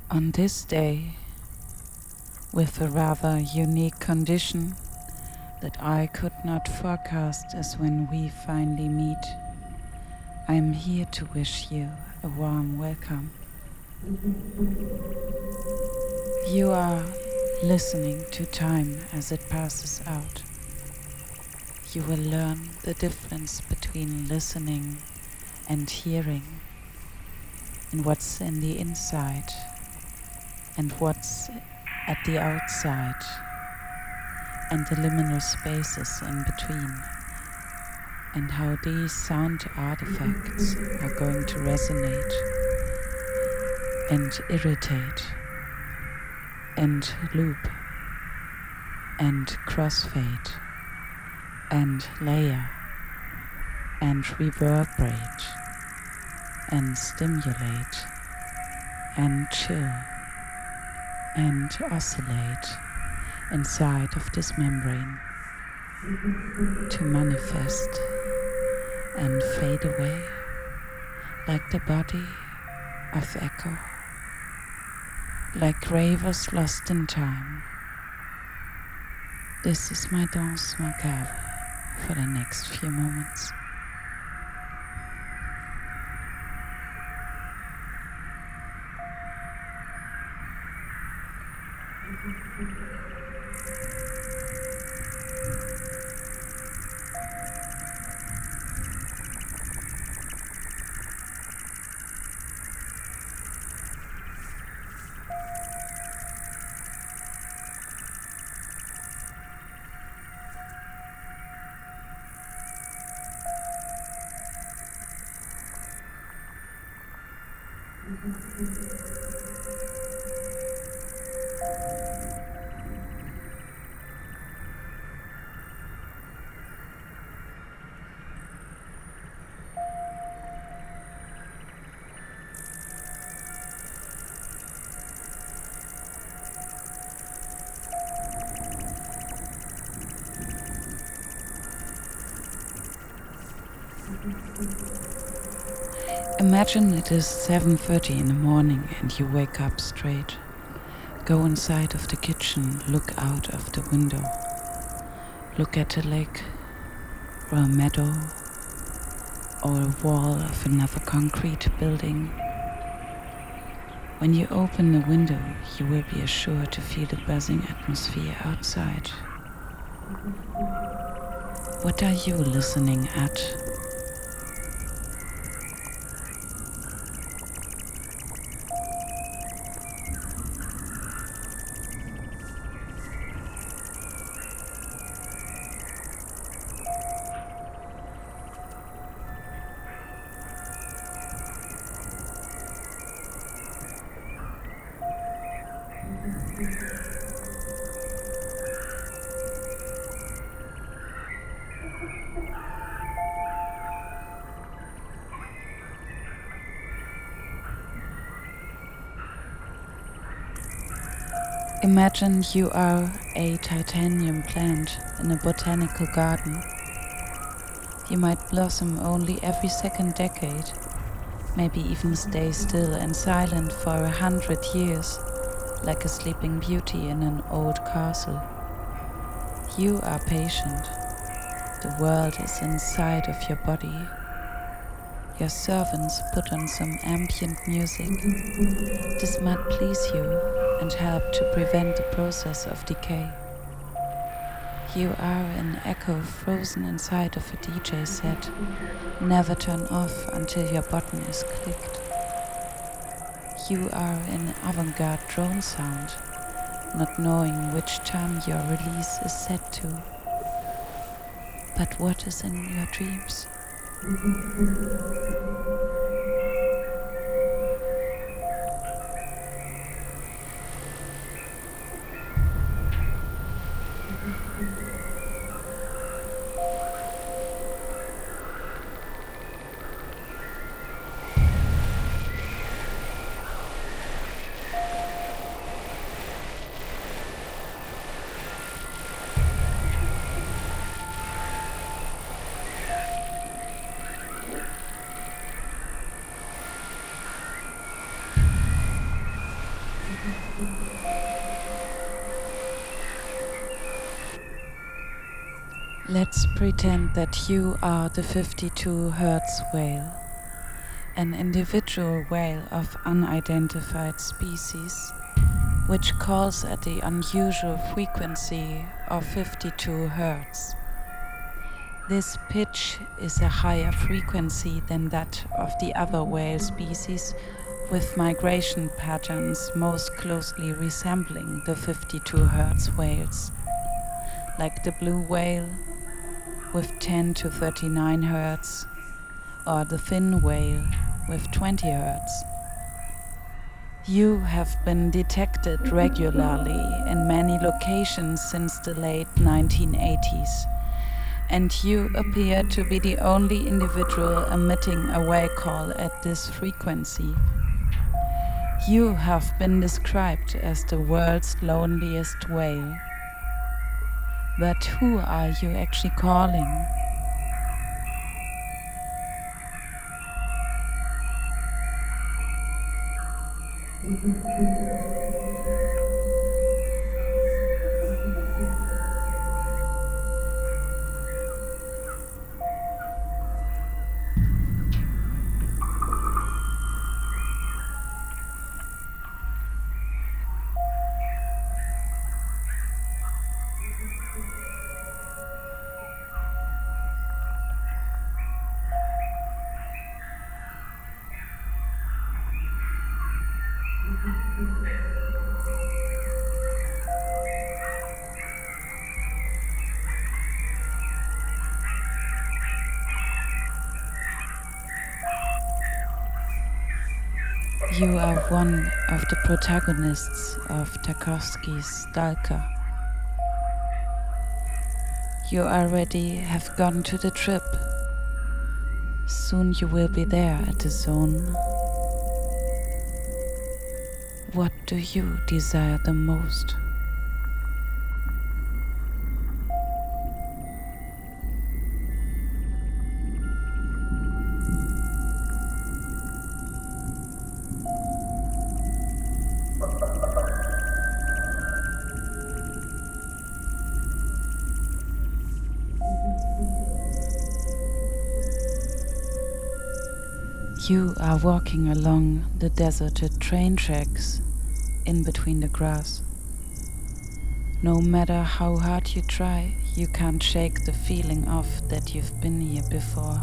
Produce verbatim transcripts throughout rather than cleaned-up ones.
On this day, with a rather unique condition that I could not forecast as when we finally meet, I am here to wish you a warm welcome. You are listening to time as it passes out. You will learn the difference between listening and hearing, and what's in the inside and what's at the outside, and the liminal spaces in between, and how these sound artifacts are going to resonate and irritate and loop and crossfade and layer and reverberate and stimulate and chill and oscillate inside of this membrane to manifest and fade away like the body of echo, like ravers lost in time. This is my danse macabre for the next few moments. Imagine it is seven thirty in the morning and you wake up straight. Go inside of the kitchen, look out of the window. Look at a lake, or a meadow, or a wall of another concrete building. When you open the window, you will be assured to feel the buzzing atmosphere outside. What are you listening at? Imagine you are a titanium plant in a botanical garden. You might blossom only every second decade, maybe even stay still and silent for a hundred years, like a sleeping beauty in an old castle. You are patient. The world is inside of your body. Your servants put on some ambient music. This might please you and help to prevent the process of decay. You are an echo frozen inside of a D J set. Never turn off until your button is clicked. You are an avant-garde drone sound, not knowing which time your release is set to. But what is in your dreams? Let's pretend that you are the fifty-two hertz whale, an individual whale of unidentified species, which calls at the unusual frequency of fifty-two hertz. This pitch is a higher frequency than that of the other whale species, with migration patterns most closely resembling the fifty-two hertz whales, like the blue whale with ten to thirty-nine hertz, or the fin whale with twenty hertz. You have been detected regularly in many locations since the late nineteen eighties, and you appear to be the only individual emitting a whale call at this frequency. You have been described as the world's loneliest whale. But who are you actually calling? You are one of the protagonists of Tarkovsky's Stalker. You already have gone to the trip. Soon you will be there at the zone. What do you desire the most? You are walking along the deserted train tracks in between the grass. No matter how hard you try, you can't shake the feeling off that you've been here before.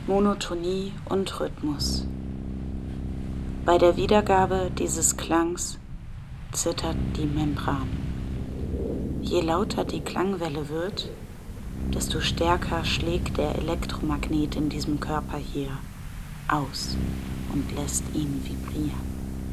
Monotonie und Rhythmus. Bei der Wiedergabe dieses Klangs zittert die Membran. Je lauter die Klangwelle wird, desto stärker schlägt der Elektromagnet in diesem Körper hier aus und lässt ihn vibrieren.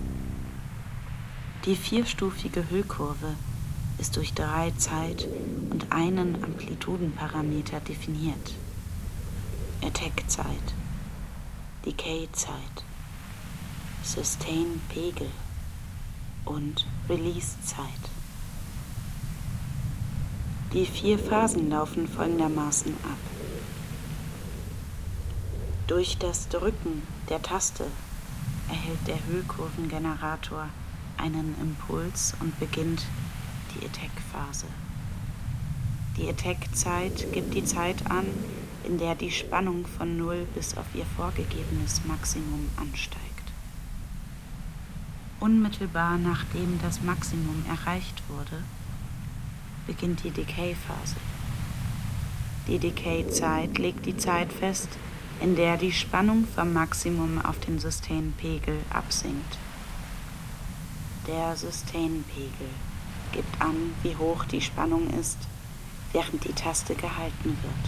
Die vierstufige Hüllkurve ist durch drei Zeit- und einen Amplitudenparameter definiert. Attack-Zeit, Decay-Zeit, Sustain-Pegel und Release-Zeit. Die vier Phasen laufen folgendermaßen ab. Durch das Drücken der Taste erhält der Hüllkurvengenerator einen Impuls und beginnt die Attack-Phase. Die Attack-Zeit gibt die Zeit an, in der die Spannung von null bis auf ihr vorgegebenes Maximum ansteigt. Unmittelbar nachdem das Maximum erreicht wurde, beginnt die Decay-Phase. Die Decay-Zeit legt die Zeit fest, in der die Spannung vom Maximum auf den Sustain-Pegel absinkt. Der Sustain-Pegel gibt an, wie hoch die Spannung ist, während die Taste gehalten wird.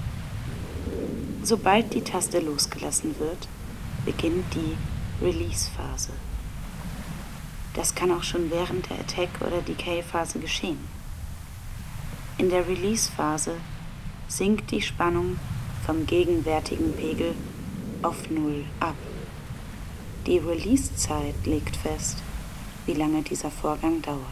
Sobald die Taste losgelassen wird, beginnt die Release-Phase. Das kann auch schon während der Attack- oder Decay-Phase geschehen. In der Release-Phase sinkt die Spannung vom gegenwärtigen Pegel auf null ab. Die Release-Zeit legt fest, wie lange dieser Vorgang dauert.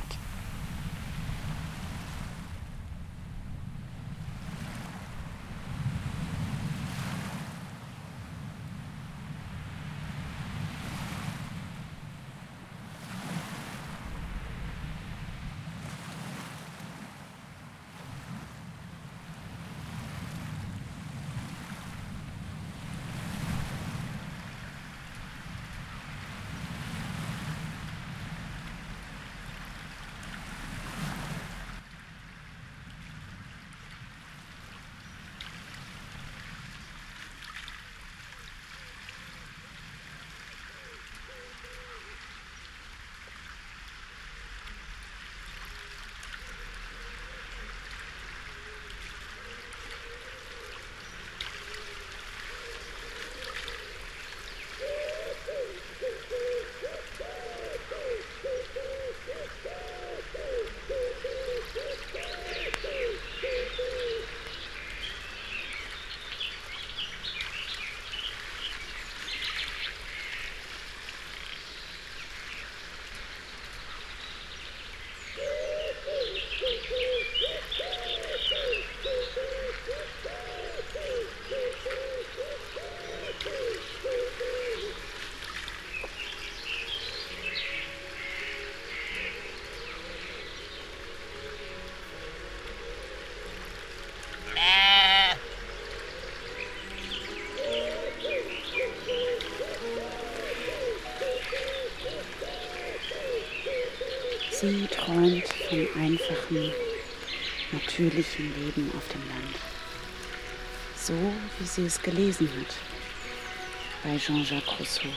Sie träumt vom einfachen, natürlichen Leben auf dem Land. So, wie sie es gelesen hat bei Jean-Jacques Rousseau.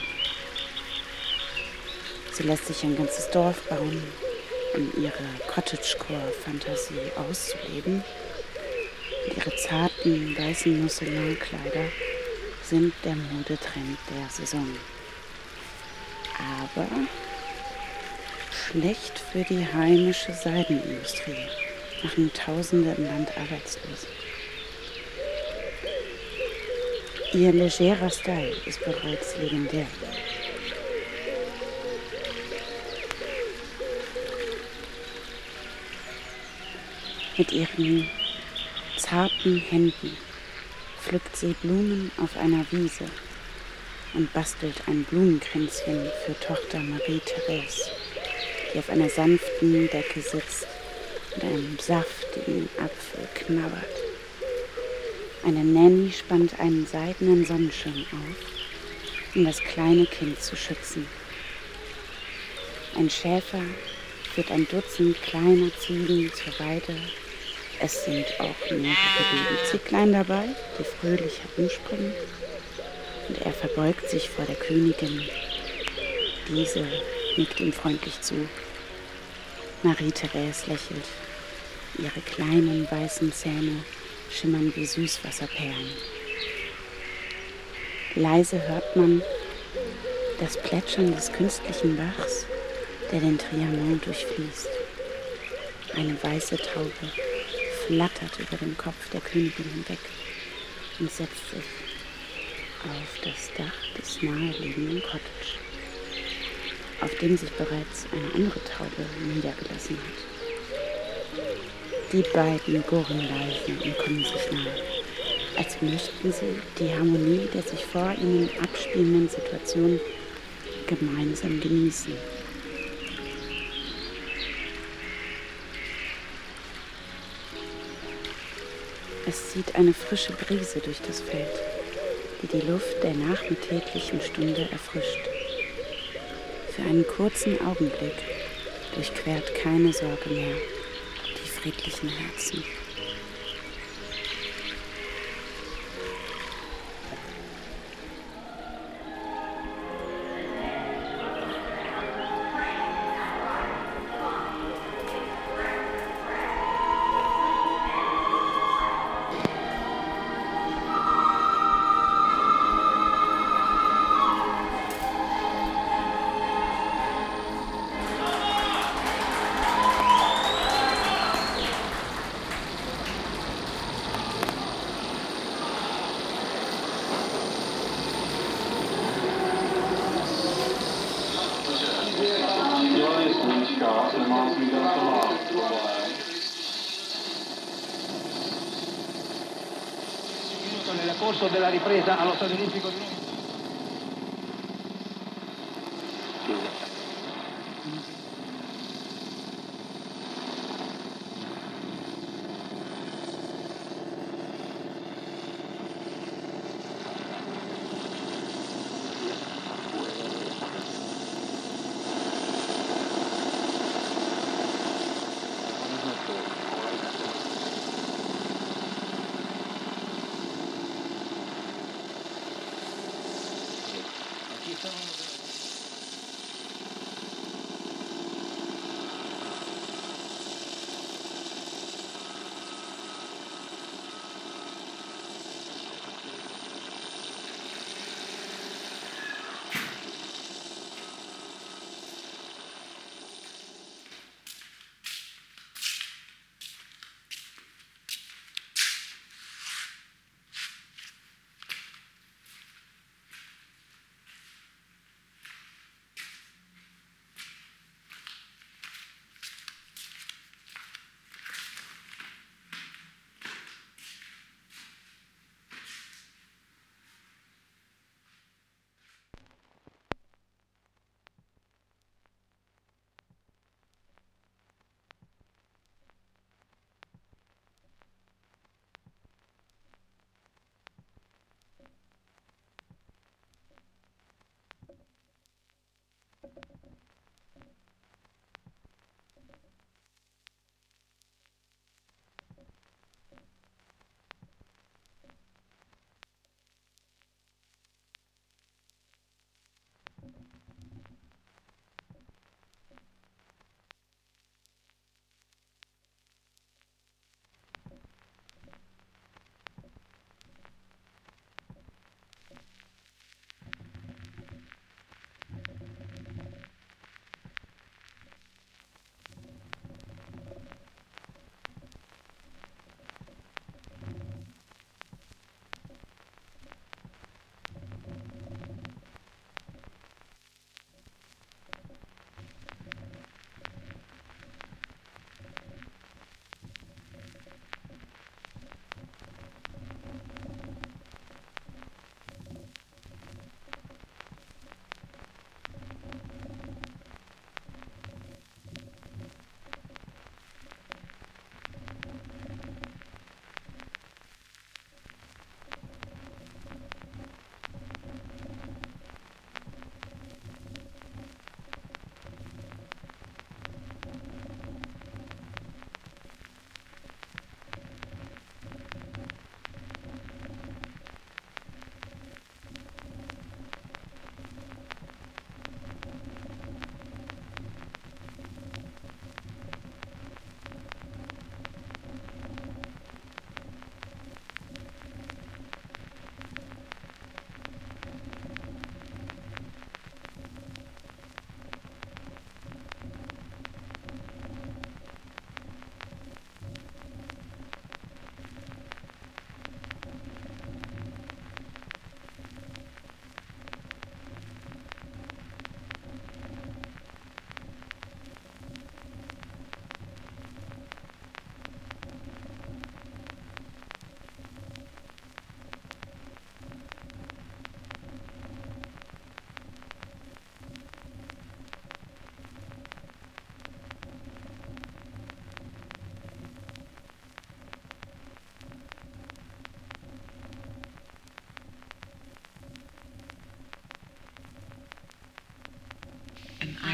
Sie lässt sich ein ganzes Dorf bauen, um ihre Cottagecore-Fantasie auszuleben. Und ihre zarten, weißen Mousseline-Kleider sind der Modetrend der Saison. Aber schlecht für die heimische Seidenindustrie, machen Tausende im Land arbeitslos. Ihr legerer Style ist bereits legendär. Mit ihren zarten Händen pflückt sie Blumen auf einer Wiese und bastelt ein Blumenkränzchen für Tochter Marie-Therese, die auf einer sanften Decke sitzt und einen saftigen Apfel knabbert. Eine Nanny spannt einen seidenen Sonnenschirm auf, um das kleine Kind zu schützen. Ein Schäfer führt ein Dutzend kleiner Ziegen zur Weide. Es sind auch mehrere Babyzicklein dabei, die fröhlich herumspringen. und er verbeugt sich vor der Königin. Diese nickt ihm freundlich zu. Marie-Therese lächelt. Ihre kleinen weißen Zähne schimmern wie Süßwasserperlen. Leise hört man das Plätschern des künstlichen Bachs, der den Trianon durchfließt. Eine weiße Taube flattert über dem Kopf der Königin hinweg und setzt sich auf das Dach des naheliegenden Cottage, auf dem sich bereits eine andere Taube niedergelassen hat. Die beiden gurren leise und kommen sich nahe, als möchten sie die Harmonie der sich vor ihnen abspielenden Situation gemeinsam genießen. Es zieht eine frische Brise durch das Feld, die die Luft der nachmittäglichen Stunde erfrischt. Für einen kurzen Augenblick durchquert keine Sorge mehr die friedlichen Herzen. Nel corso della ripresa allo Stadio Olimpico di Roma.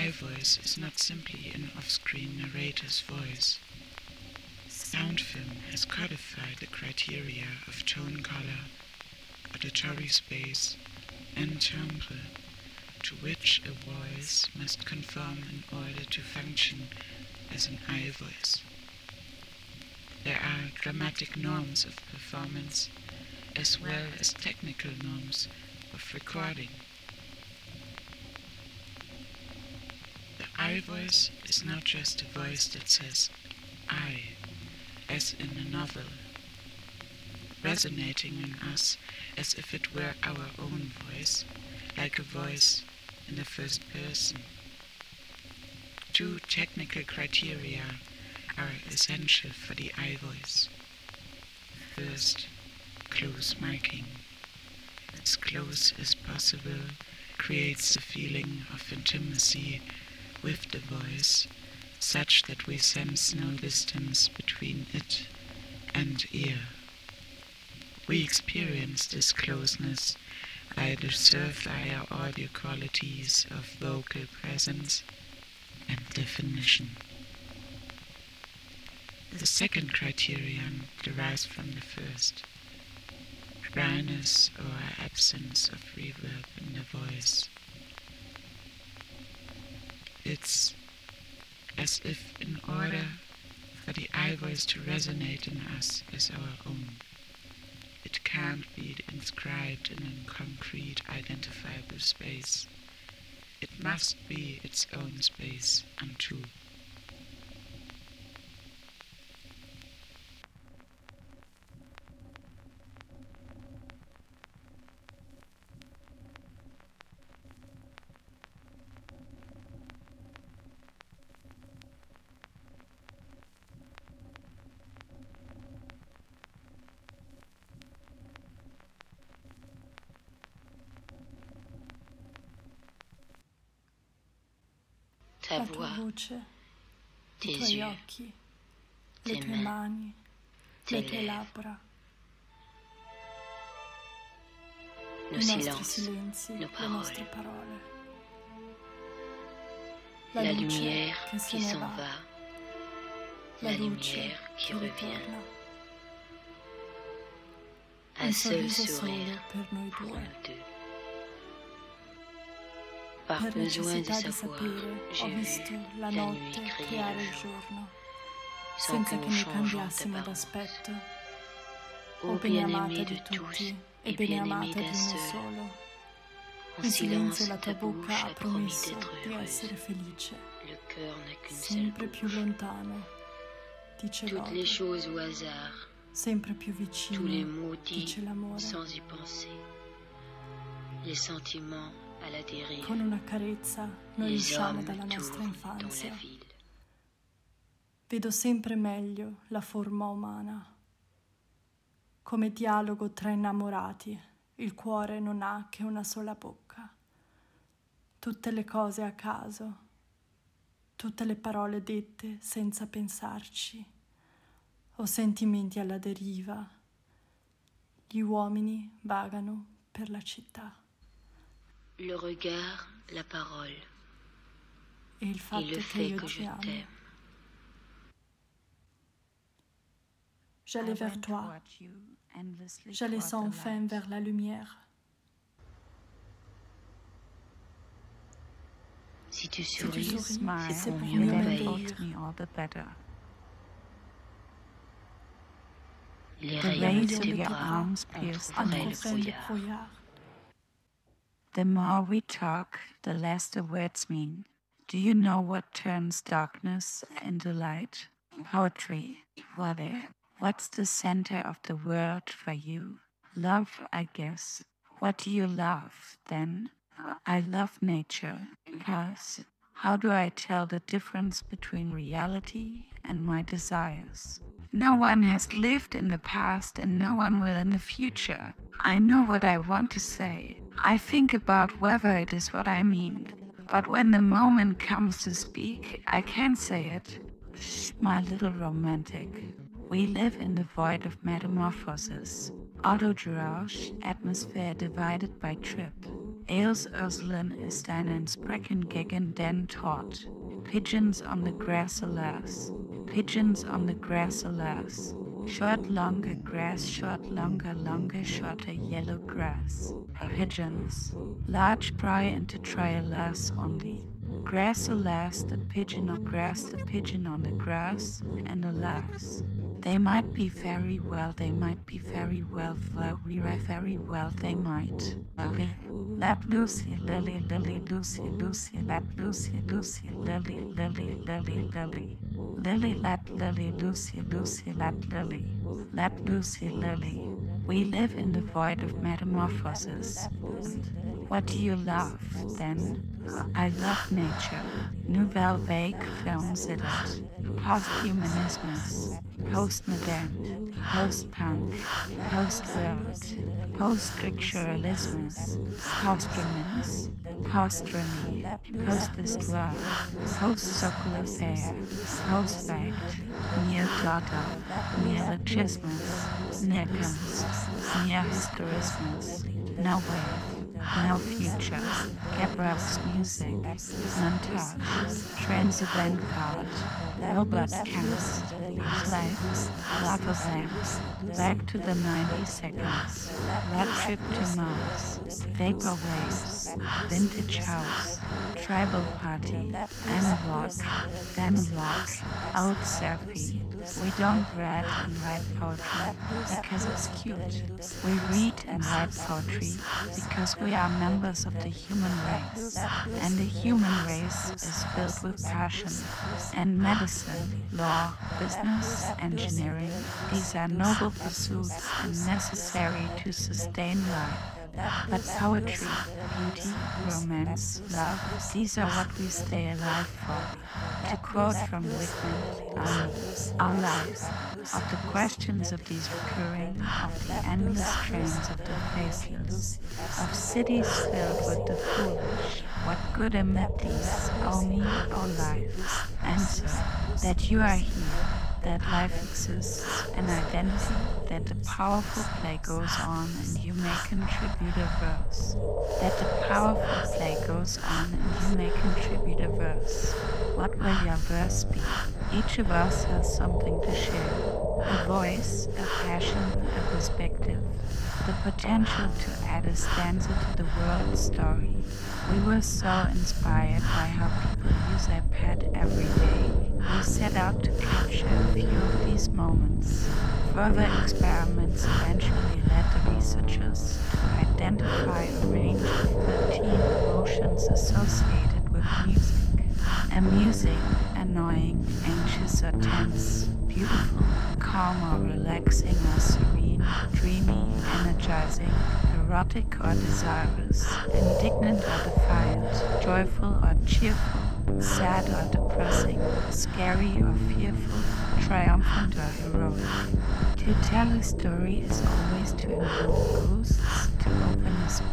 I voice is not simply an off-screen narrator's voice. Sound film has codified the criteria of tone color, auditory space, and timbre to which a voice must conform in order to function as an I voice. There are dramatic norms of performance as well as technical norms of recording. The I voice is not just a voice that says I, as in a novel, resonating in us as if it were our own voice, like a voice in the first person. Two technical criteria are essential for the I voice. First, close miking. As close as possible creates a feeling of intimacy with the voice, such that we sense no distance between it and ear. We experience this closeness by the surefire audio qualities of vocal presence and definition. The second criterion derives from the first: dryness or absence of reverb in the voice. It's as if in order for the I voice to resonate in us as our own, it can't be inscribed in a concrete, identifiable space. It must be its own space unto. La tua voce, i tuoi occhi, le tue mani, le tue labbra, i nostri silenzi, le nostre parole, la luce che se ne va, la luce che ritorna, un sorriso solo per noi due. Per necessità di sapere, ho visto la notte creare il giorno, senza che ne cambiassimo d'aspetto. O bene amata di tutti e bene amata di uno solo, in silenzio la tua bocca ha promesso di essere felice, sempre più lontano, dice l'odio, sempre più vicino, dice l'amore. Con una carezza noi usciamo dalla nostra infanzia. Vedo sempre meglio la forma umana. Come dialogo tra innamorati, il cuore non ha che una sola bocca. Tutte le cose a caso, tutte le parole dette senza pensarci, o sentimenti alla deriva. Gli uomini vagano per la città. Le regard, la parole, et il fatto et le che fait io que ti je amo. t'aime. J'allais vers toi, j'allais sans fin vers la lumière. Si tu Si tu souris, souris, Smile, c'est pour mieux mieux m'envahir. m'envahir. me all the better. les The rayons rays de of tes your bras arms pierce the entrefraient le Entrefraient le brouillard. brouillard. The more we talk, the less the words mean. Do you know what turns darkness into light? Poetry. Weather. What's the center of the world for you? Love, I guess. What do you love, then? I love nature, because how do I tell the difference between reality and my desires? No one has lived in the past and no one will in the future. I know what I want to say. I think about whether it is what I mean. But when the moment comes to speak, I can't say it. Shh, my little romantic. We live in the void of metamorphosis. Autodrausch, atmosphere divided by trip. Eos Urselen ist einen Sprechen gegen den Tod. Pigeons on the grass, alas. Pigeons on the grass, alas. Short, longer grass, short, longer, longer, shorter yellow grass. Pigeons. Large pry into try, alas, only. Grass, alas, the pigeon on grass, the pigeon on the grass, and alas. They might be very well, they might be very well, very, very well, they might. Let Lucy, Lily, Lily, Lucy, Lucy, let Lucy, Lucy, Lily, Lily, Lily, Lily. Lily, let Lily, Lucy, Lucy, let Lily. Let Lucy, Lily. We live in the void of metamorphosis. What do you love, then? I love nature. Nouvelle Vague films it. Posthumanismus. Postmodern. Post-punk. Post-world. Post-scripturalismus. Postromance. Postromy. Post-histoire. Post-socle affair. Post-fact. Neo-dogma. Neologismus. Neocons. Neo-historismus. No wave. No future, Gabriel's music, montage, transcendent card, robot cast, flags, lava lamps, back to the ninety seconds, road trip to Mars, vapor waves, vintage house, tribal party, analog, analog, old selfie. We don't read and write poetry because it's cute. We read and write poetry because we are members of the human race, and the human race is filled with passion. And medicine, law, business, engineering, these are noble pursuits and necessary to sustain life. But poetry, beauty, romance, love, these are what we stay alive for. To quote from Whitman, um, our lives, of the questions of these recurring, of the endless trains of the faceless, of cities filled with the foolish, what good amid these, O me, O life? Answer, that you are here, that life exists, an identity, that the powerful play goes on and you may contribute a verse. That the powerful play goes on and you may contribute a verse. What will your verse be? Each of us has something to share. A voice, a passion, a perspective. The potential to add a stanza to the world's story. We were so inspired by how people use iPad every day. We set out to capture a few of these moments. Further experiments eventually led the researchers to identify a range of thirteen emotions associated with music. A music, annoying, anxious or tense, beautiful, calm or relaxing or serene, dreamy, energizing, erotic or desirous, indignant or defiant, joyful or cheerful, sad or depressing, scary or fearful, triumphant or heroic. To tell a story is always to invoke ghosts, to open a sp-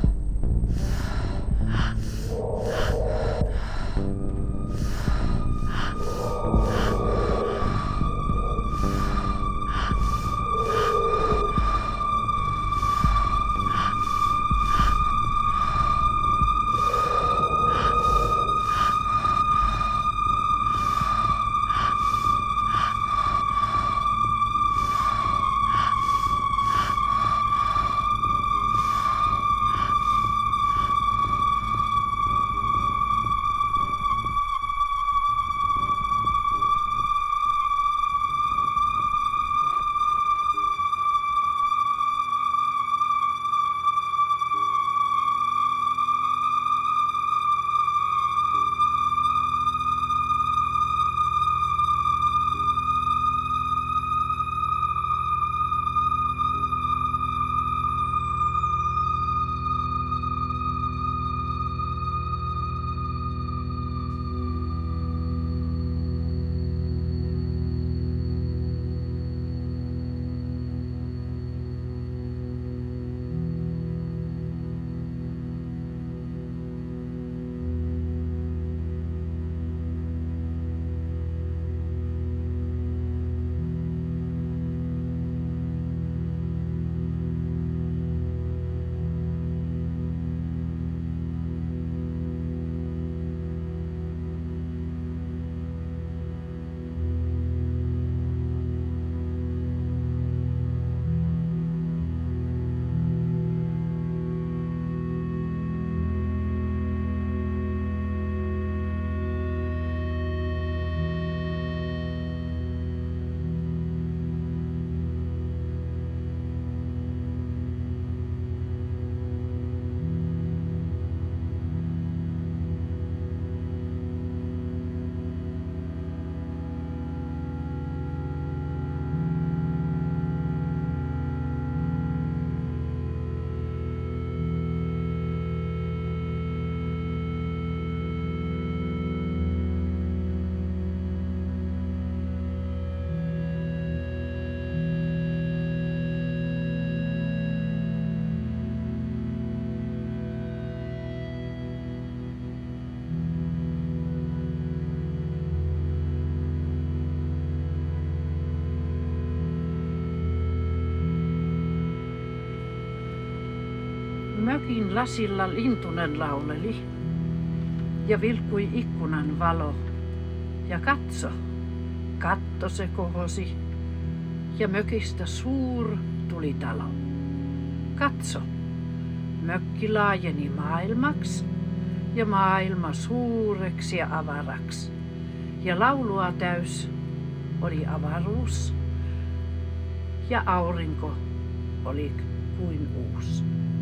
Mökin lasilla lintunen lauleli ja vilkkui ikkunan valo. Ja katso, katto se kohosi ja mökistä suur tulitalo. Katso, mökki laajeni maailmaksi ja maailma suureksi ja avaraksi. Ja laulua täys oli avaruus ja aurinko oli kuin uusi.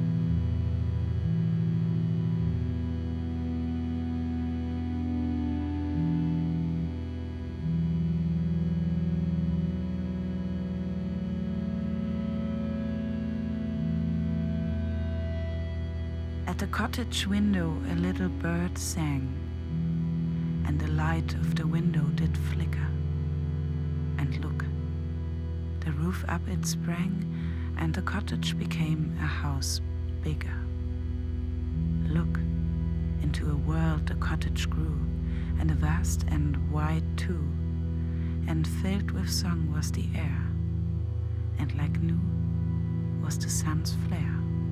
At the cottage window a little bird sang, and the light of the window did flicker. And look, the roof up it sprang, and the cottage became a house bigger. Look, into a world the cottage grew, and a vast and wide too, and filled with song was the air, and like new was the sun's flare.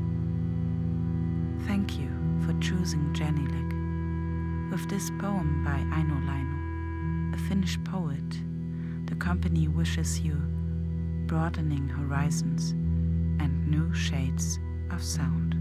Thank you for choosing Jenny Lick. With this poem by Aino Laino, a Finnish poet, the company wishes you broadening horizons and new shades of sound.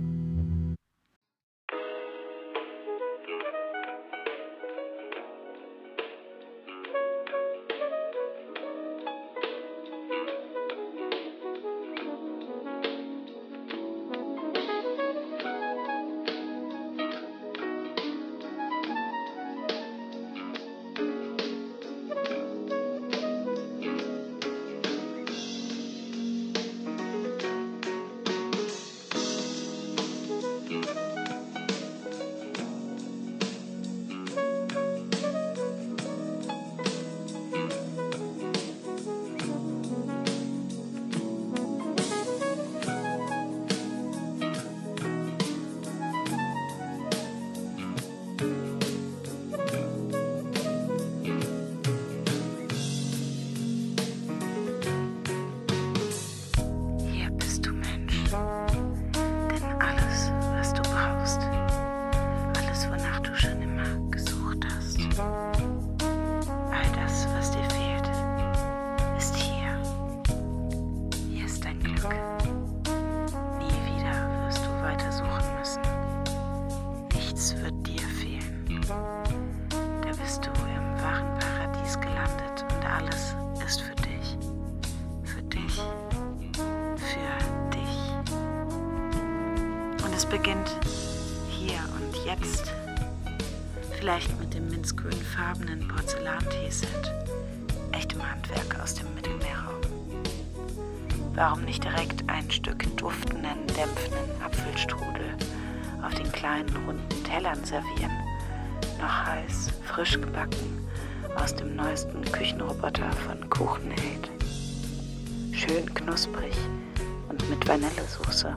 Beginnt hier und jetzt, vielleicht mit dem minzgrünfarbenen Porzellanteeset, echtem Handwerk aus dem Mittelmeerraum. Warum nicht direkt ein Stück duftenden, dämpfenden Apfelstrudel auf den kleinen, runden Tellern servieren, noch heiß, frisch gebacken aus dem neuesten Küchenroboter von Kuchenaid. Schön knusprig und mit Vanillesoße.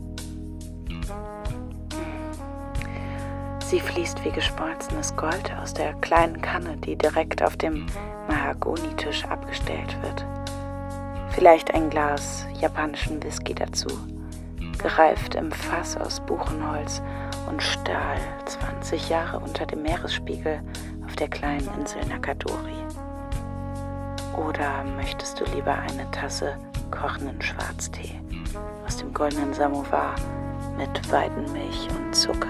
Sie fließt wie geschmolzenes Gold aus der kleinen Kanne, die direkt auf dem Mahagonitisch abgestellt wird. Vielleicht ein Glas japanischen Whisky dazu, gereift im Fass aus Buchenholz und Stahl, zwanzig Jahre unter dem Meeresspiegel auf der kleinen Insel Nakadori. Oder möchtest du lieber eine Tasse kochenden Schwarztee aus dem goldenen Samovar mit Weidenmilch und Zucker?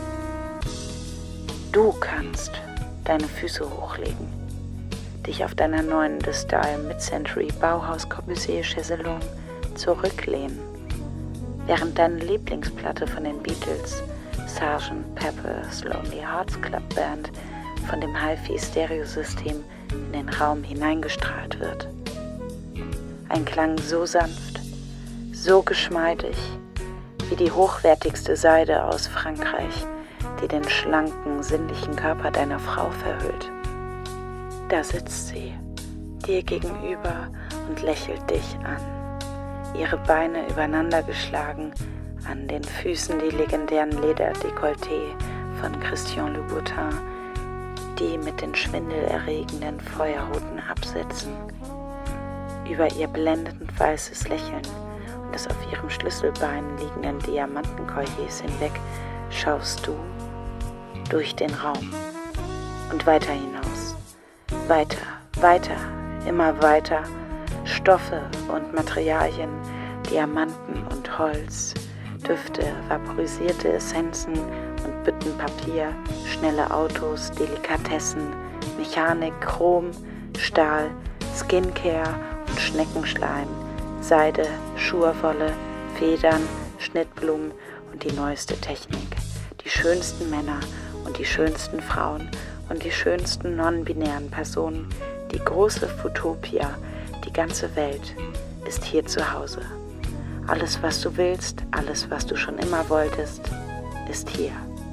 Du kannst deine Füße hochlegen, dich auf deiner neuen De Style Mid-Century Bauhaus Corbusier Chaiselong zurücklehnen, während deine Lieblingsplatte von den Beatles, Sergeant Pepper's Lonely Hearts Club Band, von dem Hi-Fi-Stereosystem in den Raum hineingestrahlt wird. Ein Klang so sanft, so geschmeidig, wie die hochwertigste Seide aus Frankreich, die den schlanken, sinnlichen Körper deiner Frau verhüllt. Da sitzt sie, dir gegenüber und lächelt dich an, ihre Beine übereinander geschlagen, an den Füßen die legendären Lederdekolletés von Christian Louboutin, die mit den schwindelerregenden feuerroten Absätzen. Über ihr blendend weißes Lächeln des auf ihrem Schlüsselbein liegenden Diamantenkolliers hinweg schaust du durch den Raum und weiter hinaus, weiter, weiter, immer weiter, Stoffe und Materialien, Diamanten und Holz, Düfte, vaporisierte Essenzen und Büttenpapier, schnelle Autos, Delikatessen, Mechanik, Chrom, Stahl, Skincare und Schneckenschleim, Seide, Schurwolle, Federn, Schnittblumen und die neueste Technik, die schönsten Männer und die schönsten Frauen und die schönsten non-binären Personen, die große Futopia, die ganze Welt ist hier zu Hause. Alles, was du willst, alles, was du schon immer wolltest, ist hier.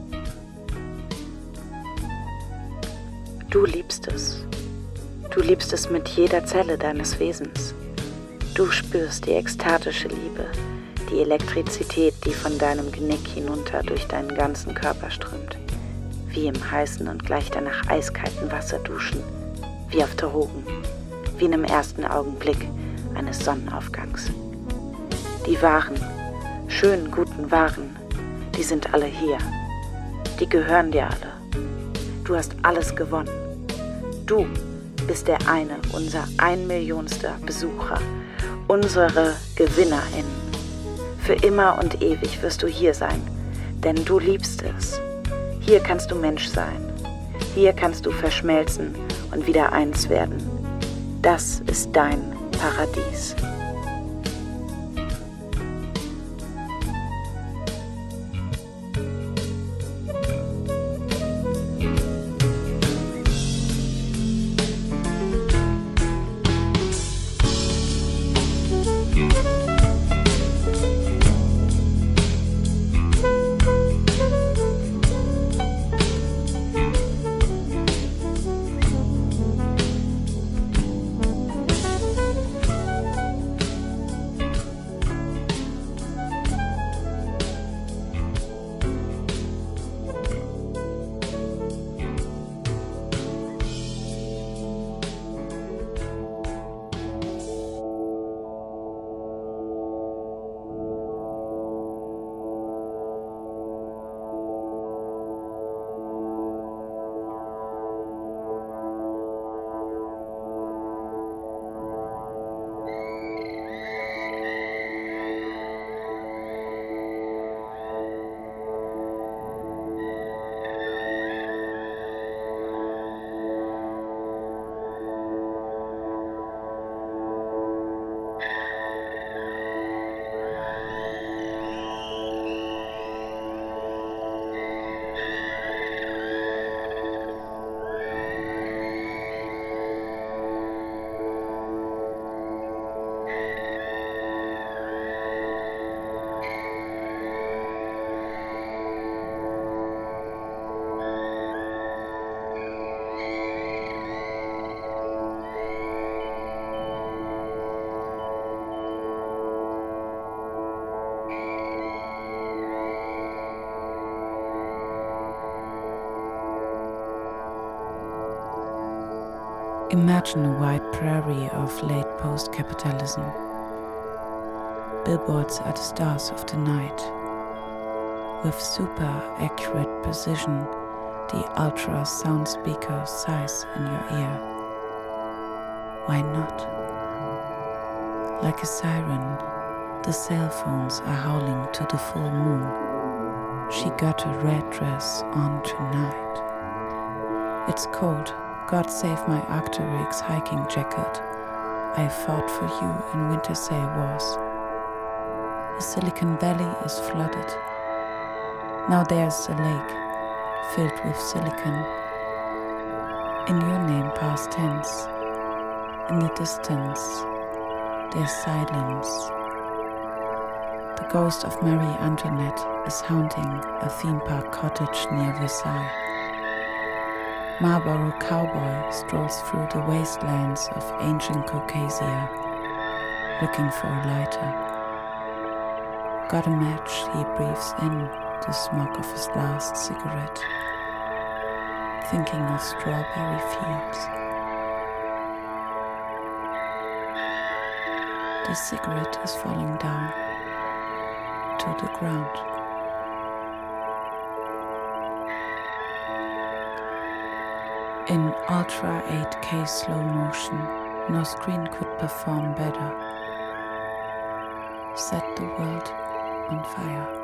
Du liebst es. Du liebst es mit jeder Zelle deines Wesens. Du spürst die ekstatische Liebe, die Elektrizität, die von deinem Genick hinunter durch deinen ganzen Körper strömt. Wie im heißen und gleich danach eiskalten Wasser duschen, wie auf Drogen, wie in dem ersten Augenblick eines Sonnenaufgangs. Die wahren, schönen, guten Waren, die sind alle hier. Die gehören dir alle. Du hast alles gewonnen. Du bist der eine, unser einmillionster Besucher, unsere GewinnerInnen. Für immer und ewig wirst du hier sein, denn du liebst es. Hier kannst du Mensch sein. Hier kannst du verschmelzen und wieder eins werden. Das ist dein Paradies. Imagine a wide prairie of late post-capitalism. Billboards are the stars of the night. With super accurate precision, the ultra sound speaker sighs in your ear. Why not? Like a siren, the cell phones are howling to the full moon. She got a red dress on tonight. It's cold. God save my Arc'teryx hiking jacket. I fought for you in Winter Sail Wars. The Silicon Valley is flooded. Now there's a lake filled with silicon. In your name past tense. In the distance, there's silence. The ghost of Marie Antoinette is haunting a theme park cottage near Versailles. Marlboro cowboy strolls through the wastelands of ancient Caucasia, looking for a lighter. Got a match, he breathes in the smoke of his last cigarette, thinking of strawberry fields. The cigarette is falling down. to the ground. In Ultra eight K slow motion, no screen could perform better. Set the world on fire.